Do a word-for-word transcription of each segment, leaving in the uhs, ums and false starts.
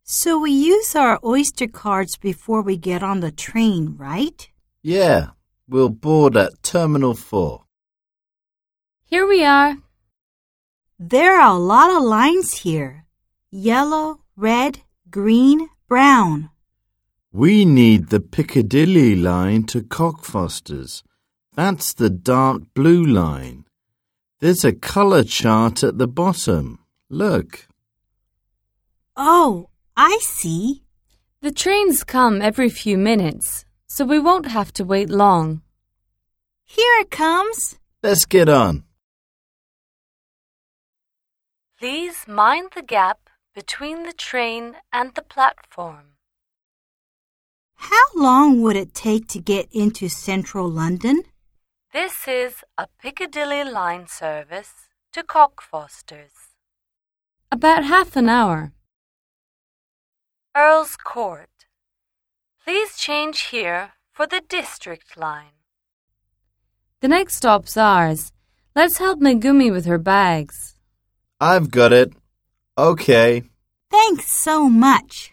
So we use our Oyster cards before we get on the train, right? Yeah, we'll board at Terminal four. Here we are. There are a lot of lines here. Yellow, red, green, brown. We need the Piccadilly line to Cockfosters. That's the dark blue line. There's a colour chart at the bottom. Look. Oh, I see. The trains come every few minutes, so we won't have to wait long. Here it comes. Let's get on. Please mind the gap between the train and the platform. How long would it take to get into central London? This is a Piccadilly line service to Cockfosters. About half an hour. Earl's Court. Please change here for the District line. The next stop's ours. Let's help Megumi with her bags. I've got it. Okay. Thanks so much.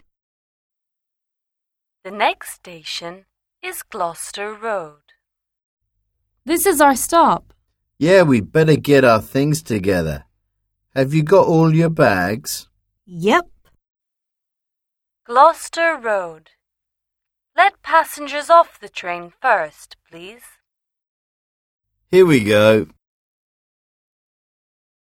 The next station is Gloucester Road. This is our stop. Yeah, we better get our things together. Have you got all your bags? Yep. Gloucester Road. Let passengers off the train first, please. Here we go.